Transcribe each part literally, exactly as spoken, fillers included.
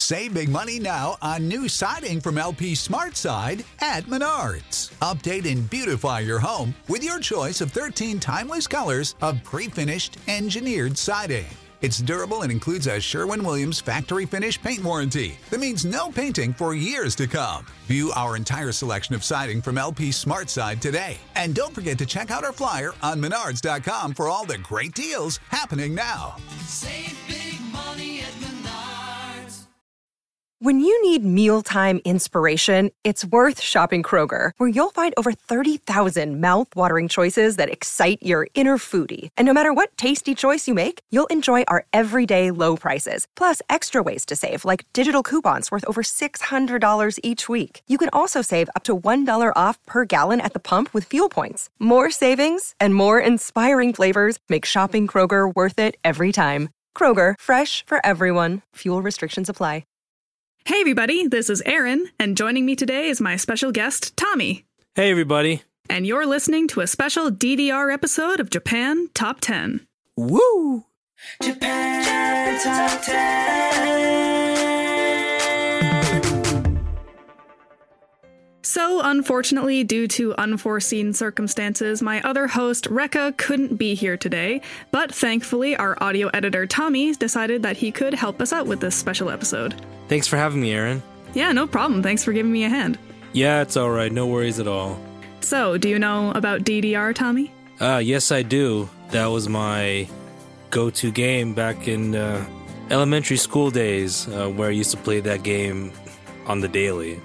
Save big money now on new siding from L P SmartSide at Menards. Update and beautify your home with your choice of thirteen timeless colors of pre-finished engineered siding. It's durable and includes a Sherwin-Williams factory finish paint warranty that means no painting for years to come. View our entire selection of siding from L P SmartSide today. And don't forget to check out our flyer on menards dot com for all the great deals happening now. Save big money at Menards. When you need mealtime inspiration, it's worth shopping Kroger, where you'll find over thirty thousand mouth-watering choices that excite your inner foodie. And no matter what tasty choice you make, you'll enjoy our everyday low prices, plus extra ways to save, like digital coupons worth over six hundred dollars each week. You can also save up to one dollar off per gallon at the pump with fuel points. More savings and more inspiring flavors make shopping Kroger worth it every time. Kroger, fresh for everyone. Fuel restrictions apply. Hey everybody, this is Aaron, and joining me today is my special guest, Tommy. Hey everybody. And you're listening to a special D D R episode of Japan Top ten. Woo! Japan Top ten. So, unfortunately, due to unforeseen circumstances, my other host, Rekka, couldn't be here today, but thankfully, our audio editor, Tommy, decided that he could help us out with this special episode. Thanks for having me, Aaron. Yeah, no problem. Thanks for giving me a hand. Yeah, it's alright. No worries at all. So, do you know about D D R, Tommy? Uh, yes, I do. That was my go-to game back in uh, elementary school days, uh, where I used to play that game on the daily.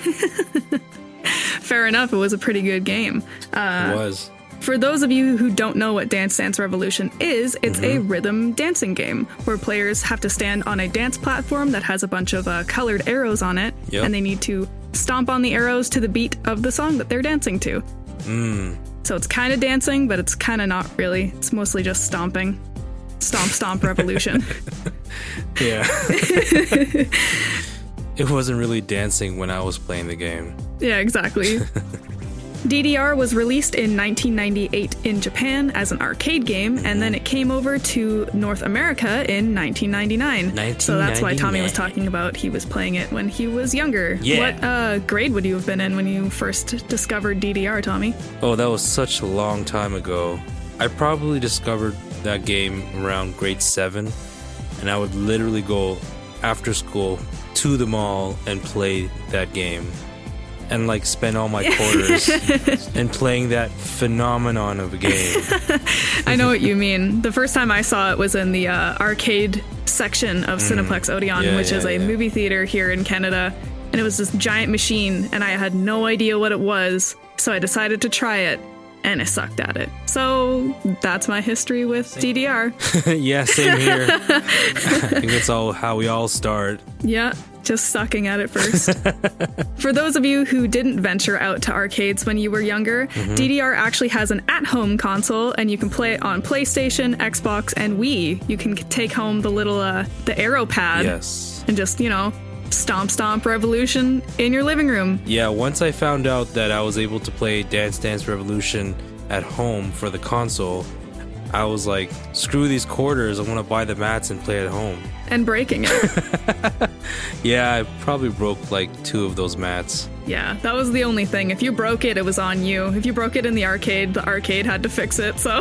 Fair enough, it was a pretty good game. Uh, it was. For those of you who don't know what Dance Dance Revolution is, it's Mm-hmm. a rhythm dancing game where players have to stand on a dance platform that has a bunch of uh, colored arrows on it, Yep. and they need to stomp on the arrows to the beat of the song that they're dancing to. Mm. So it's kind of dancing, but it's kind of not really. It's mostly just stomping. Stomp, stomp, revolution. Yeah. It wasn't really dancing when I was playing the game. Yeah, exactly. D D R was released in nineteen ninety-eight in Japan as an arcade game, and then it came over to North America in nineteen ninety-nine. So that's why Tommy was talking about he was playing it when he was younger. Yeah. What uh, grade would you have been in when you first discovered D D R, Tommy? Oh, that was such a long time ago. I probably discovered that game around grade seven, and I would literally go after school to the mall and play that game. And like spend all my quarters and playing that phenomenon of a game. I know what you mean. The first time I saw it was in the uh, arcade section of Cineplex Odeon, Yeah, which yeah, is a yeah. movie theater here in Canada. And it was this giant machine, and I had no idea what it was. So I decided to try it, and I sucked at it. So that's my history with D D R. Yeah, same here. I think that's all how we all start. Yeah, just sucking at it first. For those of you who didn't venture out to arcades when you were younger, Mm-hmm. D D R actually has an at-home console, and you can play it on PlayStation, Xbox, and Wii. You can take home the little, uh, the arrow pad Yes. and just, you know, stomp stomp revolution in your living room. Yeah, once I found out that I was able to play Dance Dance Revolution at home for the console, I was like, screw these quarters, I want to buy the mats and play at home. And breaking it. Yeah, I probably broke like two of those mats. Yeah, that was the only thing. If you broke it, it was on you. If you broke it in the arcade, the arcade had to fix it, so...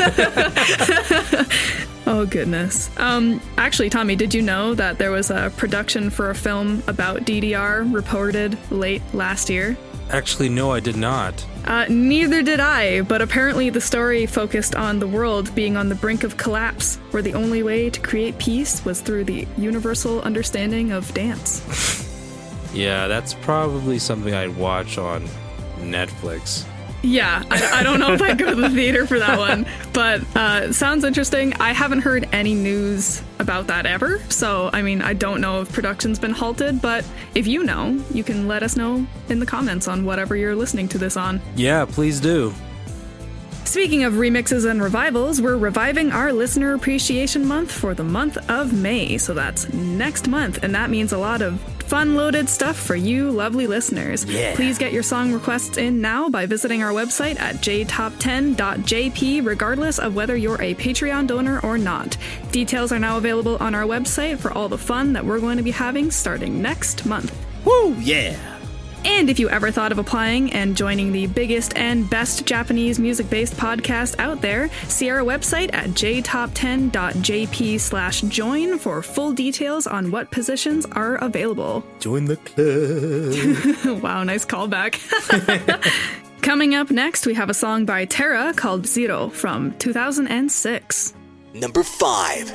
Oh, goodness. Um, actually, Tommy, did you know that there was a production for a film about D D R reported late last year? Actually, no, I did not. Uh, neither did I, but apparently the story focused on the world being on the brink of collapse, where the only way to create peace was through the universal understanding of dance. Yeah, that's probably something I'd watch on Netflix. Yeah, I, I don't know if I'd go to the theater for that one, but uh, sounds interesting. I haven't heard any news about that ever, so I mean, I don't know if production's been halted, but if you know, you can let us know in the comments on whatever you're listening to this on. Yeah, please do. Speaking of remixes and revivals, we're reviving our Listener Appreciation Month for the month of May, so that's next month, and that means a lot of fun-loaded stuff for you lovely listeners. Yeah. Please get your song requests in now by visiting our website at j top ten dot j p, regardless of whether you're a Patreon donor or not. Details are now available on our website for all the fun that we're going to be having starting next month. Woo, yeah. And if you ever thought of applying and joining the biggest and best Japanese music-based podcast out there, see our website at j top ten dot j p slash join for full details on what positions are available. Join the club. Wow, nice callback. Coming up next, we have a song by Terra called Zero from two thousand six. Number five.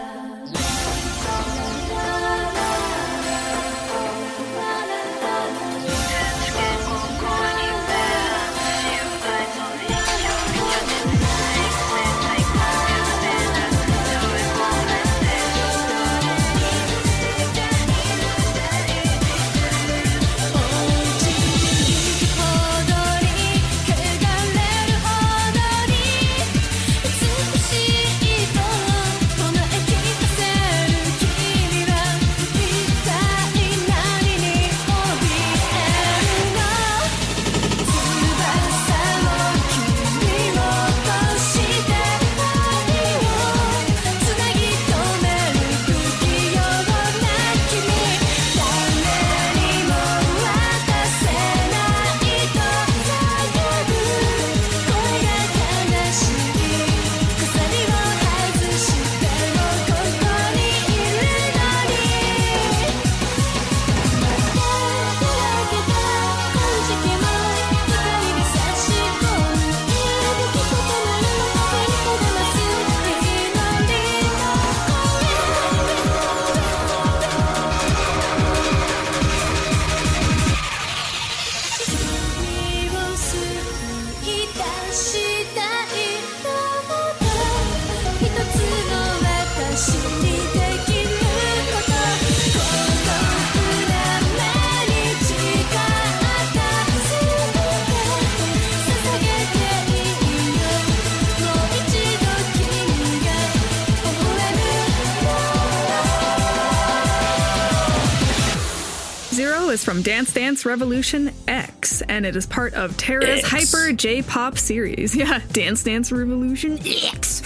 'Zero is from Dance Dance Revolution X, and it is part of Terra's X. Hyper J-Pop series. Yeah, Dance Dance Revolution X.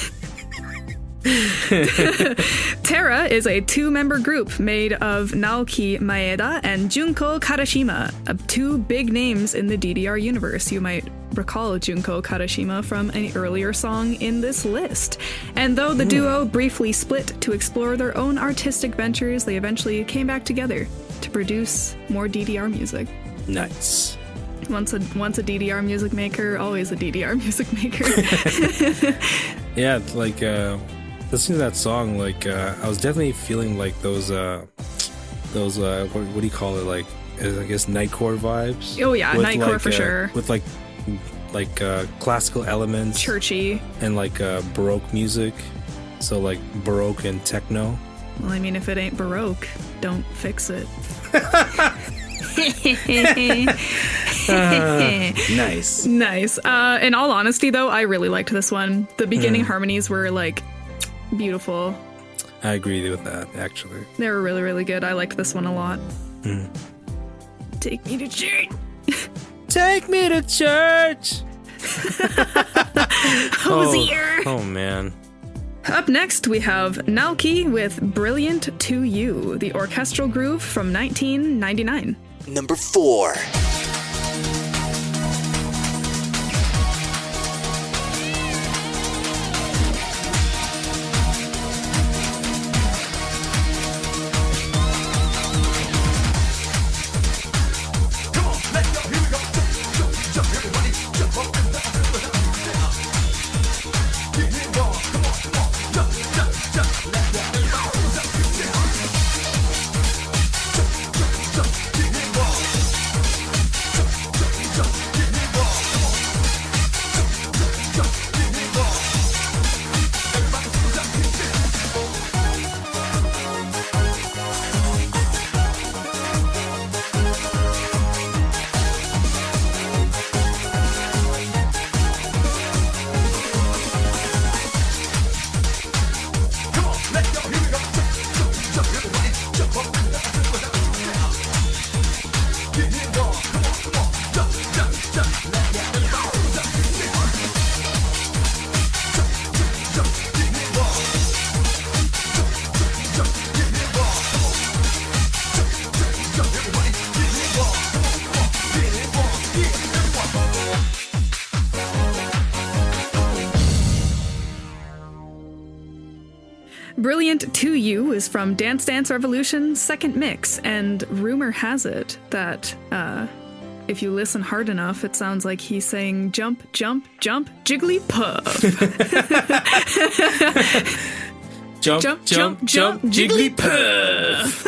Terra is a two-member group made of Naoki Maeda and Junko Karashima, uh, two big names in the D D R universe. You might recall Junko Karashima from an earlier song in this list. And though the duo briefly split to explore their own artistic ventures, they eventually came back together to produce more D D R music. Nice. Once a once a D D R music maker, always a D D R music maker. Yeah, it's like uh, listening to that song, like uh, I was definitely feeling like those uh, those uh, what, what do you call it? Like I guess nightcore vibes. Oh yeah, With, nightcore like, for uh, sure. With like like uh, classical elements, Churchy. and like uh, baroque music. So like baroque and techno. Well, I mean, if it ain't Baroque, don't fix it. Uh, nice. Nice. Uh, in all honesty, though, I really liked this one. The beginning Mm. harmonies were, like, beautiful. I agree with that, actually. They were really, really good. I liked this one a lot. Mm. Take me to church. Take me to church. Hosier. Oh, oh man. Up next, we have Naoki with Brilliant to You, the orchestral groove from nineteen ninety-nine. Number four. Brilliant to You is from Dance Dance Revolution's second mix, and rumor has it that uh, if you listen hard enough, it sounds like he's saying jump, jump, jump, Jigglypuff. Jump, Jump, jump, jump, jump, jump, Jigglypuff.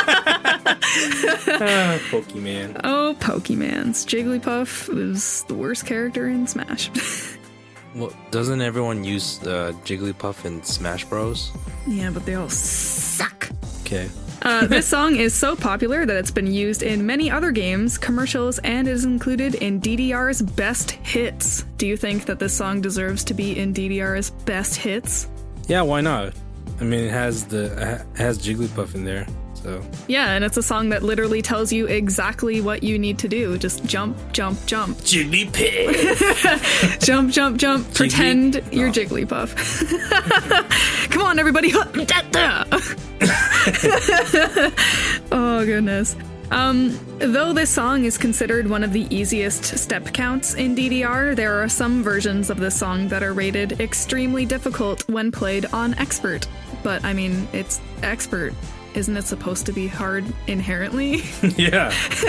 ah, Pokemon. Oh, Pokemans. Jigglypuff is the worst character in Smash. Well, doesn't everyone use uh, Jigglypuff in Smash Bros? Yeah, but they all suck. Okay. Uh, this song is so popular that it's been used in many other games, commercials, and is included in D D R's best hits. Do you think that this song deserves to be in D D R's best hits? Yeah, why not? I mean, it has the it has Jigglypuff in there, so Yeah, and it's a song that literally tells you exactly what you need to do. Just jump, jump, jump. Jigglypuff. Jump, jump, jump. Jiggly- Pretend you're Oh. Jigglypuff. Come on, everybody. Oh, goodness. Um, though this song is considered one of the easiest step counts in D D R, there are some versions of this song that are rated extremely difficult when played on Expert. But, I mean, it's Expert. Isn't it supposed to be hard inherently? Yeah.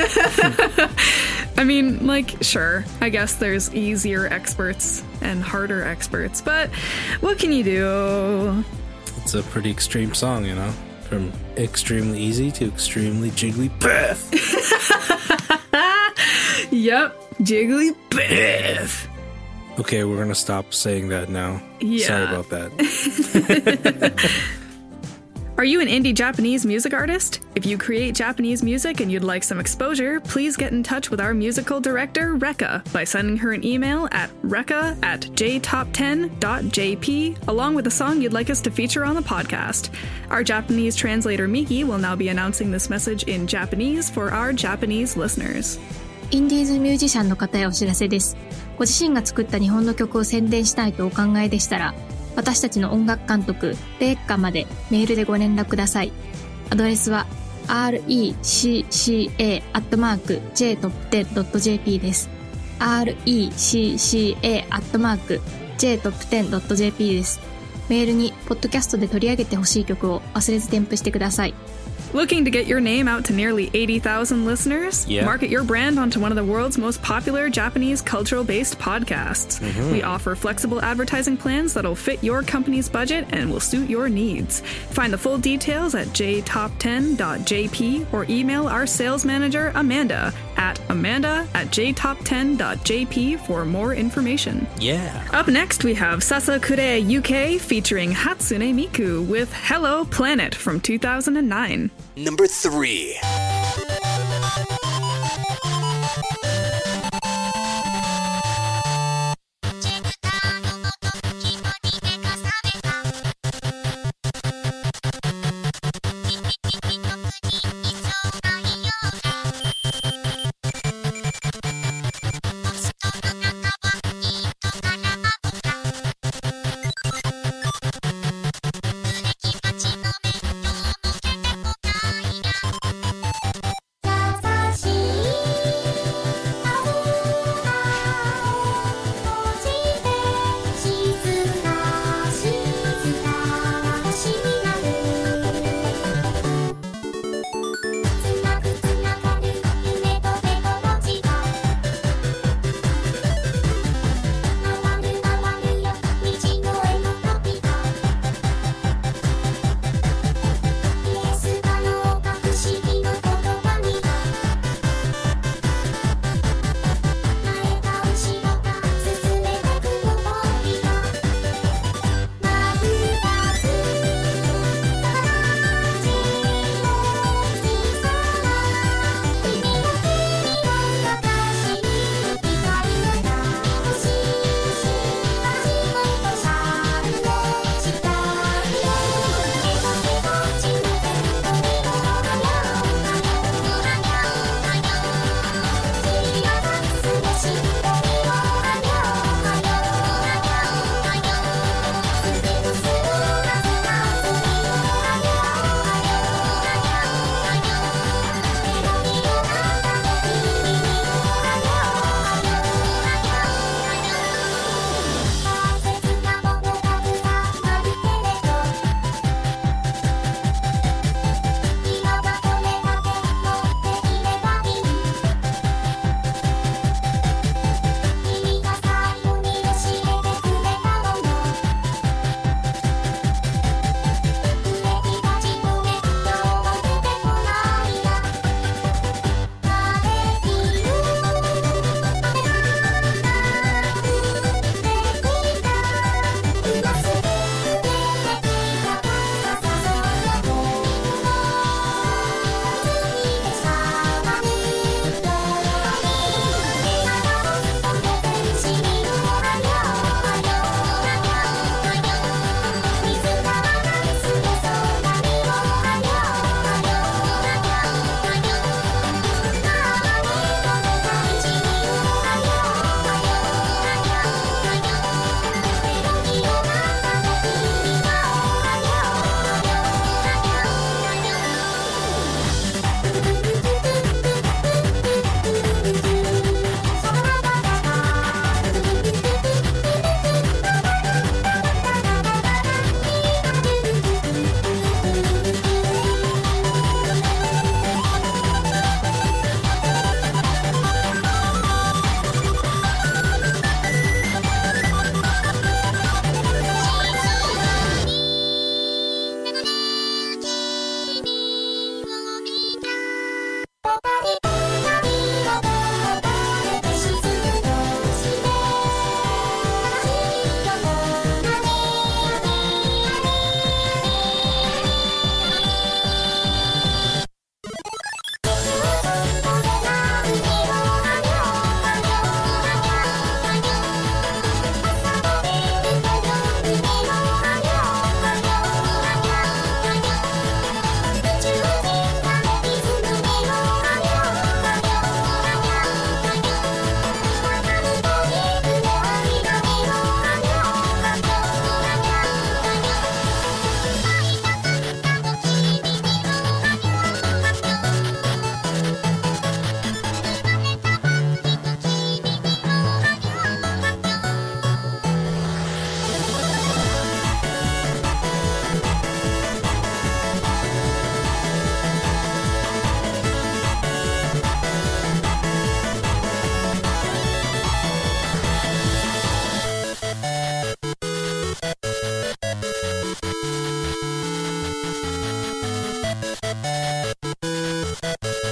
I mean, like, sure, I guess there's easier experts and harder experts, but what can you do? It's a pretty extreme song, you know? From extremely easy to extremely Jigglypuff. Yep, Jigglypuff. Okay, we're gonna stop saying that now. Yeah. Sorry about that. Are you an indie Japanese music artist? If you create Japanese music and you'd like some exposure, please get in touch with our musical director, Rekka, by sending her an email at rekka at j top ten dot j p, along with a song you'd like us to feature on the podcast. Our Japanese translator, Miki, will now be announcing this message in Japanese for our Japanese listeners. インディーズミュージシャンの方へお知らせです。ご自身が作った日本の曲を宣伝したいとお考えでしたら、私たちの音楽監督、レッカまでメールでご連絡ください。アドレスは アールイーシーシーエー アットマーク ジェイトップテン ドット ジェーピー です。アールイーシーシーエー アットマーク ジェイトップテン ドット ジェーピー です。メールにポッドキャストで取り上げてほしい曲を忘れず添付してください。 Looking to get your name out to nearly eighty thousand listeners? Yeah. Market your brand onto one of the world's most popular Japanese cultural-based podcasts. Mm-hmm. We offer flexible advertising plans that'll fit your company's budget and will suit your needs. Find the full details at j top ten dot j p or email our sales manager, Amanda, at amanda at j top ten dot j p for more information. Yeah. Up next, we have Sasakure U K featuring Hatsune Miku with Hello Planet from two thousand nine. Number three.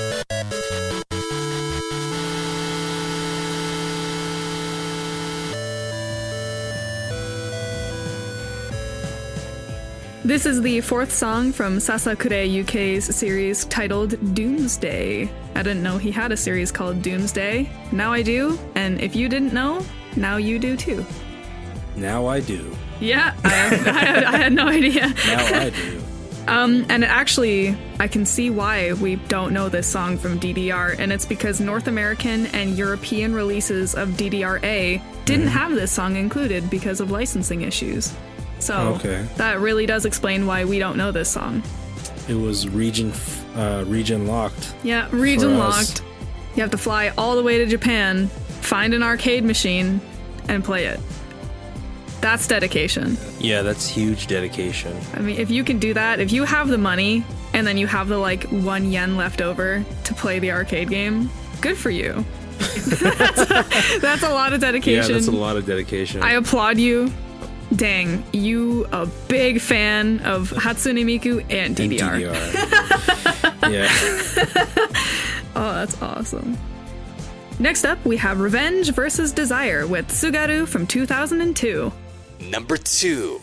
This is the fourth song from Sasakure U K's series titled Doomsday. I didn't know he had a series called Doomsday. Now I do, and if you didn't know, now you do too. Now I do. Yeah, I, have, I, had, I had no idea. Now I do. Um, and actually, I can see why we don't know this song from D D R, and it's because North American and European releases of D D R A didn't Mm-hmm. have this song included because of licensing issues. So Okay. that really does explain why we don't know this song. It was region uh, region locked. Yeah, region For us. locked. You have to fly all the way to Japan, find an arcade machine, and play it. That's dedication. Yeah, that's huge dedication. I mean, if you can do that, if you have the money and then you have the like one yen left over to play the arcade game, good for you. that's, a, that's a lot of dedication. Yeah, that's a lot of dedication. I applaud you. Dang, you a big fan of Hatsune Miku and D D R. And D D R. Yeah. Oh, that's awesome. Next up, we have Revenge versus Desire with Tsugaru from two thousand two. Number two.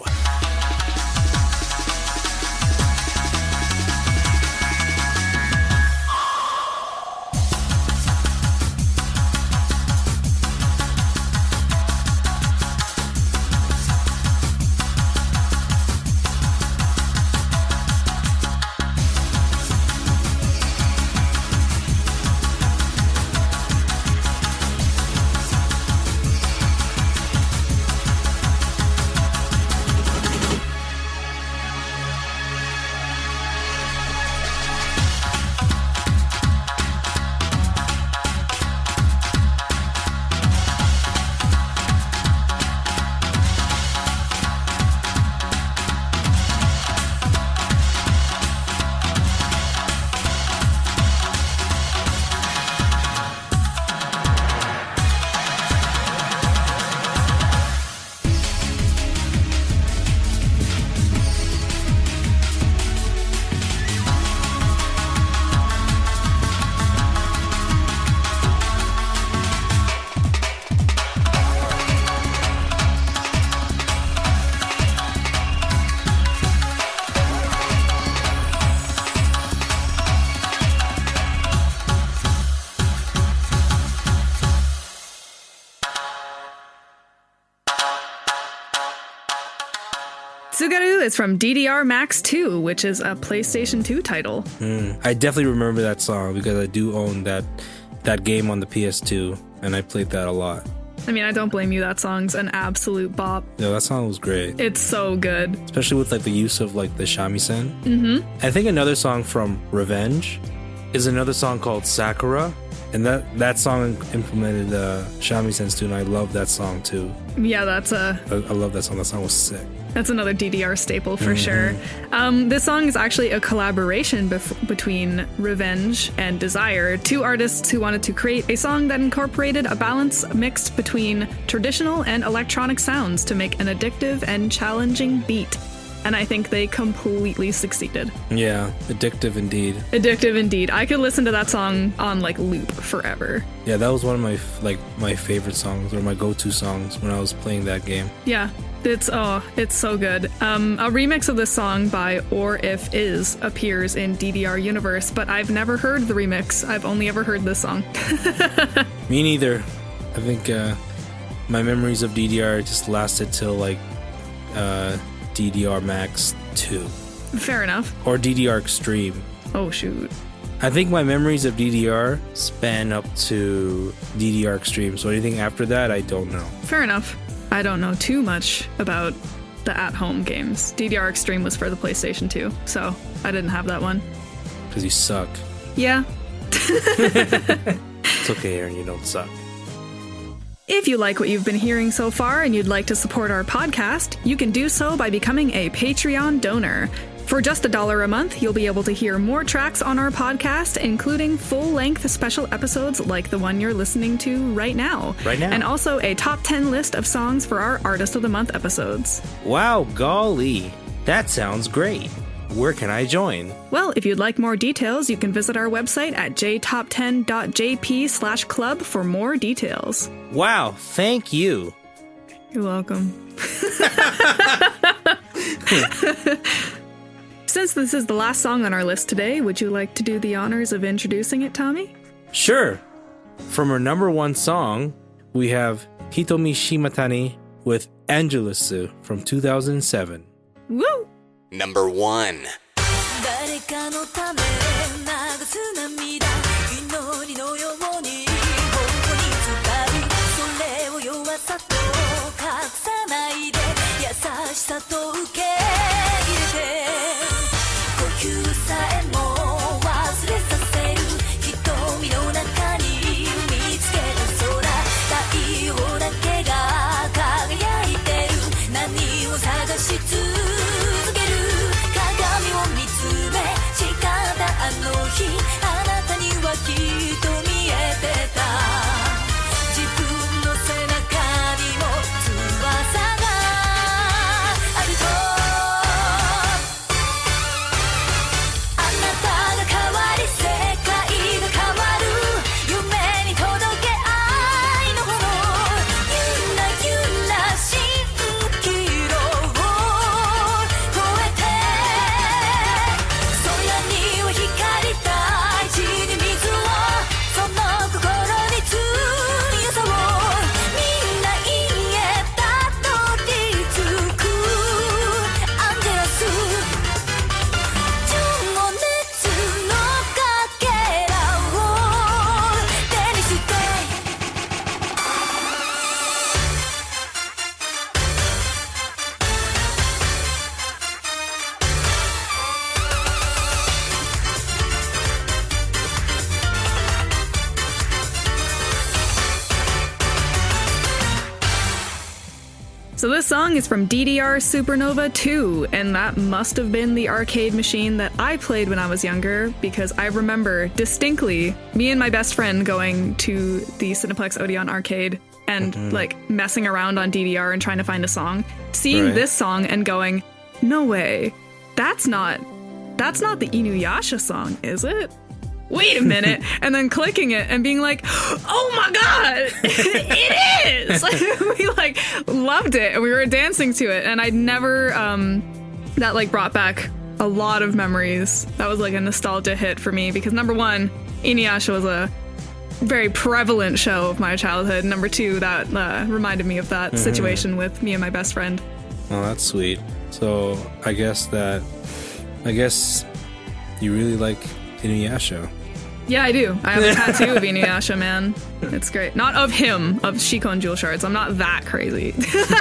Tsugaru is from D D R Max two, which is a PlayStation two title. Mm. I definitely remember that song because I do own that that game on the P S two, and I played that a lot. I mean, I don't blame you. That song's an absolute bop. Yeah, that song was great. It's so good. Especially with like the use of like the shamisen. Mm-hmm. I think another song from Revenge is another song called Sakura, and that that song implemented uh, shamisen too, and I love that song too. Yeah, that's a I, I love that song. That song was sick. That's another D D R staple for sure. Um, this song is actually a collaboration bef- between Revenge and Desire, two artists who wanted to create a song that incorporated a balance mixed between traditional and electronic sounds to make an addictive and challenging beat. And I think they completely succeeded. Yeah, addictive indeed. Addictive indeed. I could listen to that song on like loop forever. Yeah, that was one of my like my favorite songs or my go-to songs when I was playing that game. Yeah. It's oh, it's so good. Um, a remix of this song by Or If Is appears in D D R Universe, but I've never heard the remix. I've only ever heard this song. Me neither. I think uh, my memories of D D R just lasted till like uh, D D R Max two Fair enough. or D D R Extreme. Oh shoot. I think my memories of D D R span up to D D R Extreme, so anything after that, I don't know. Fair enough. I don't know too much about the at-home games. D D R Extreme was for the PlayStation two, so I didn't have that one. Because you suck. Yeah. It's okay, Aaron, you don't suck. If you like what you've been hearing so far and you'd like to support our podcast, you can do so by becoming a Patreon donor. For just a dollar a month, you'll be able to hear more tracks on our podcast, including full-length special episodes like the one you're listening to right now. Right now. And also a top ten list of songs for our Artist of the Month episodes. Wow, golly. That sounds great. where can I join? Well, if you'd like more details, you can visit our website at j top ten dot j p slash club for more details. Wow, thank you. You're welcome. Since this is the last song on our list today, would you like to do the honors of introducing it, Tommy? Sure. From our number one song, we have Hitomi Shimatani with Angelusu from two thousand seven. Woo! Number one. 誰かのため流す涙祈りのように頬に伝うそれを弱さと隠さないで優しさと受け入れて呼吸さえも忘れさせる瞳の中に見つけた空太陽だけが輝いてる何を探し続ける鏡を見つめ誓ったあの日あなたにはきっと見えてた自分の背中にも翼があるとあなたが変わり世界が変わる夢に届け愛の炎ゆらゆら蜃気楼を越えて空には光大地に水をその心に強さをみんな家たどり着くアンジェラス情熱のかけらを手にして So this song is from D D R Supernova two, and that must have been the arcade machine that I played when I was younger, because I remember distinctly me and my best friend going to the Cineplex Odeon arcade and like messing around on D D R and trying to find a song, seeing Right. this song and going, no way, that's not, that's not the Inuyasha song, is it? Wait a minute, and then clicking it and being like, oh my god, it is! We like loved it and we were dancing to it, and I'd never, um, that like brought back a lot of memories. That was like a nostalgia hit for me because number one, Inuyasha was a very prevalent show of my childhood. Number two, that uh, reminded me of that situation with me and my best friend. Oh, that's sweet. So I guess that, I guess you really like Inuyasha. Yeah, I do. I have a tattoo of Inuyasha, man. It's great. Not of him, of Shikon Jewel Shards. I'm not that crazy.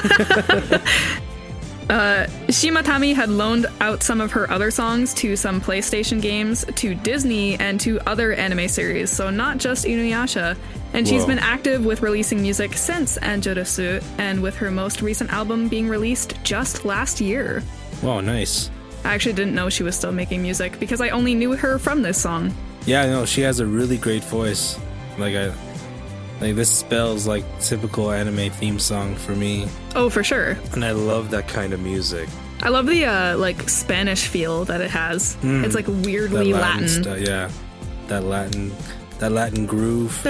uh, Shimatami had loaned out some of her other songs to some PlayStation games, to Disney, and to other anime series, so not just Inuyasha. And she's Whoa. been active with releasing music since Angelusu, and with her most recent album being released just last year. Wow, nice. I actually didn't know she was still making music because I only knew her from this song. Yeah, I know she has a really great voice. Like I, like this spells like typical anime theme song for me, Oh, for sure. and I love that kind of music. I love the uh, like Spanish feel that it has. Mm. It's like That weirdly Latin. stu- yeah, that Latin, that Latin groove.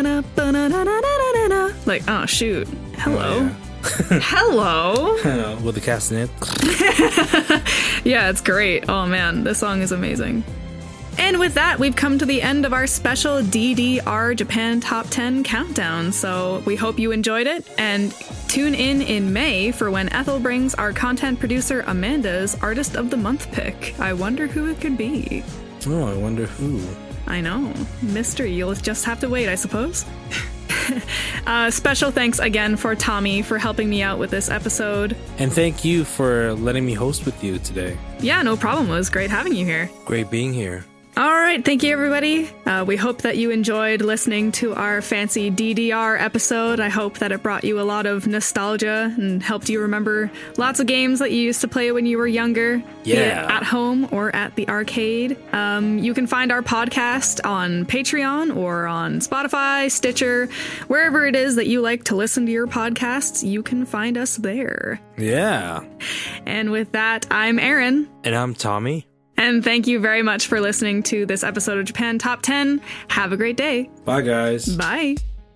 Like, oh shoot. Hello. Oh, Hello. yeah. With the castanet. Yeah, it's great. Oh man, this song is amazing. And with that, we've come to the end of our special D D R Japan Top ten Countdown. So we hope you enjoyed it, and tune in in May for when Ethel brings our content producer Amanda's Artist of the Month pick. I wonder who it could be. Oh, I wonder who. I know. Mystery. You'll just have to wait, I suppose. uh, special thanks again for Tommy for helping me out with this episode. And thank you for letting me host with you today. Yeah, no problem. It was great having you here. Great being here. All right, thank you, everybody. Uh, we hope that you enjoyed listening to our fancy D D R episode. I hope that it brought you a lot of nostalgia and helped you remember lots of games that you used to play when you were younger, be it Yeah. at home or at the arcade. Um, you can find our podcast on Patreon or on Spotify, Stitcher, wherever it is that you like to listen to your podcasts. You can find us there. Yeah. And with that, I'm Erin. And I'm Tommy. And thank you very much for listening to this episode of Japan Top ten. Have a great day. Bye, guys. Bye.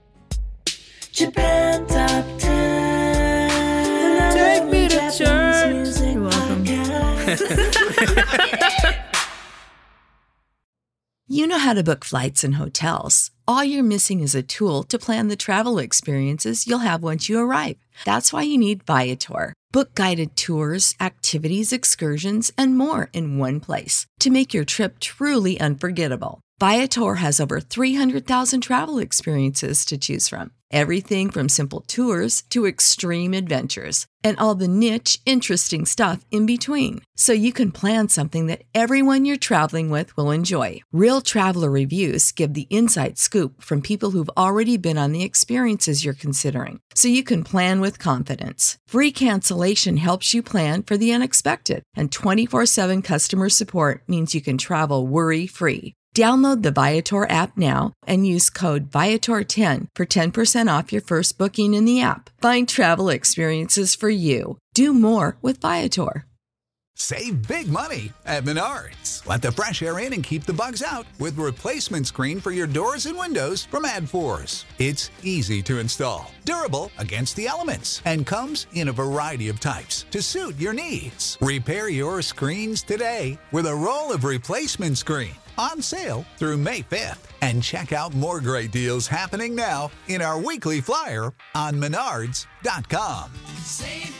Japan Top ten. Take me to church. You're welcome. You know how to book flights and hotels. All you're missing is a tool to plan the travel experiences you'll have once you arrive. That's why you need Viator. Book guided tours, activities, excursions, and more in one place to make your trip truly unforgettable. Viator has over three hundred thousand travel experiences to choose from. Everything from simple tours to extreme adventures and all the niche, interesting stuff in between. So you can plan something that everyone you're traveling with will enjoy. Real traveler reviews give the inside scoop from people who've already been on the experiences you're considering. So you can plan with confidence. Free cancellation helps you plan for the unexpected. And twenty-four seven customer support means you can travel worry-free. Download the Viator app now and use code Viator ten for ten percent off your first booking in the app. Find travel experiences for you. Do more with Viator. Save big money at Menards. Let the fresh air in and keep the bugs out with replacement screen for your doors and windows from AdForce. It's easy to install, durable against the elements, and comes in a variety of types to suit your needs. Repair your screens today with a roll of replacement screen. On sale through May fifth. And check out more great deals happening now in our weekly flyer on menards dot com. Save